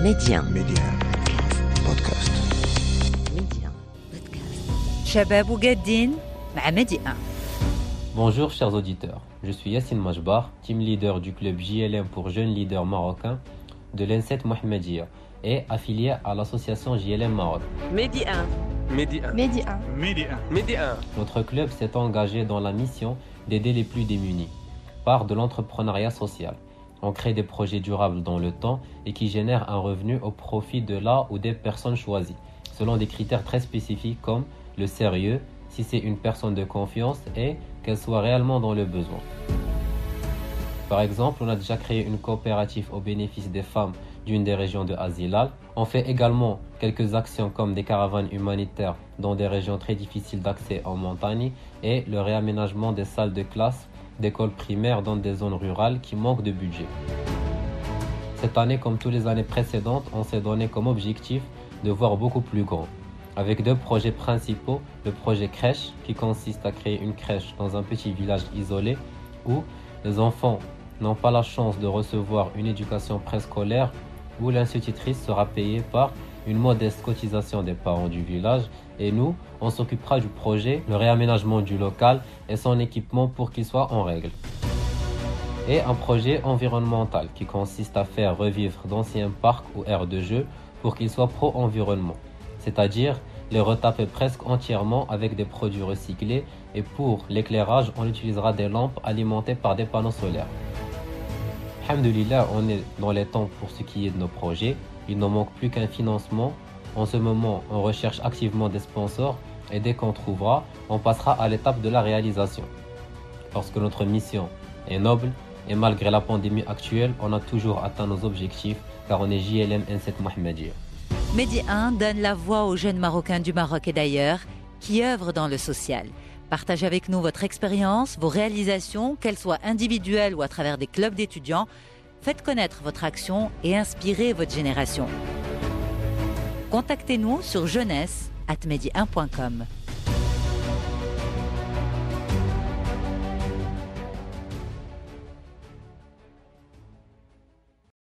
Média بودكاست. شباب وجادين مع ميدي 1. Bonjour chers auditeurs, je suis Yassine Majbar, team leader du club JLM pour jeunes leaders marocains de l'N7 Mohammedia et affilié à l'association JLM Maroc. Média 1. Notre club s'est engagé dans la mission d'aider les plus démunis par de l'entrepreneuriat social. On crée des projets durables dans le temps et qui génèrent un revenu au profit de la ou des personnes choisies, selon des critères très spécifiques comme le sérieux, si c'est une personne de confiance et qu'elle soit réellement dans le besoin. Par exemple, on a déjà créé une coopérative au bénéfice des femmes d'une des régions de Azilal. On fait également quelques actions comme des caravanes humanitaires dans des régions très difficiles d'accès en montagne et le réaménagement des salles de classe d'écoles primaires dans des zones rurales qui manquent de budget. Cette année, comme toutes les années précédentes, on s'est donné comme objectif de voir beaucoup plus grand. Avec deux projets principaux, le projet crèche qui consiste à créer une crèche dans un petit village isolé où les enfants n'ont pas la chance de recevoir une éducation préscolaire, où l'institutrice sera payée par une modeste cotisation des parents du village et nous, on s'occupera du projet, le réaménagement du local et son équipement pour qu'il soit en règle. Et un projet environnemental qui consiste à faire revivre d'anciens parcs ou aires de jeu pour qu'ils soient pro-environnement, c'est-à-dire les retaper presque entièrement avec des produits recyclés et pour l'éclairage, on utilisera des lampes alimentées par des panneaux solaires. Alhamdoulilah, on est dans les temps pour ce qui est de nos projets. Il ne manque plus qu'un financement. En ce moment, on recherche activement des sponsors et dès qu'on trouvera, on passera à l'étape de la réalisation. Parce que notre mission est noble et malgré la pandémie actuelle, on a toujours atteint nos objectifs car on est JLM N7 Mohammedia. Média 1 donne la voix aux jeunes Marocains du Maroc et d'ailleurs qui œuvrent dans le social. Partagez avec nous votre expérience, vos réalisations, qu'elles soient individuelles ou à travers des clubs d'étudiants. Faites connaître votre action et inspirez votre génération. Contactez-nous sur jeunesse@media1.com.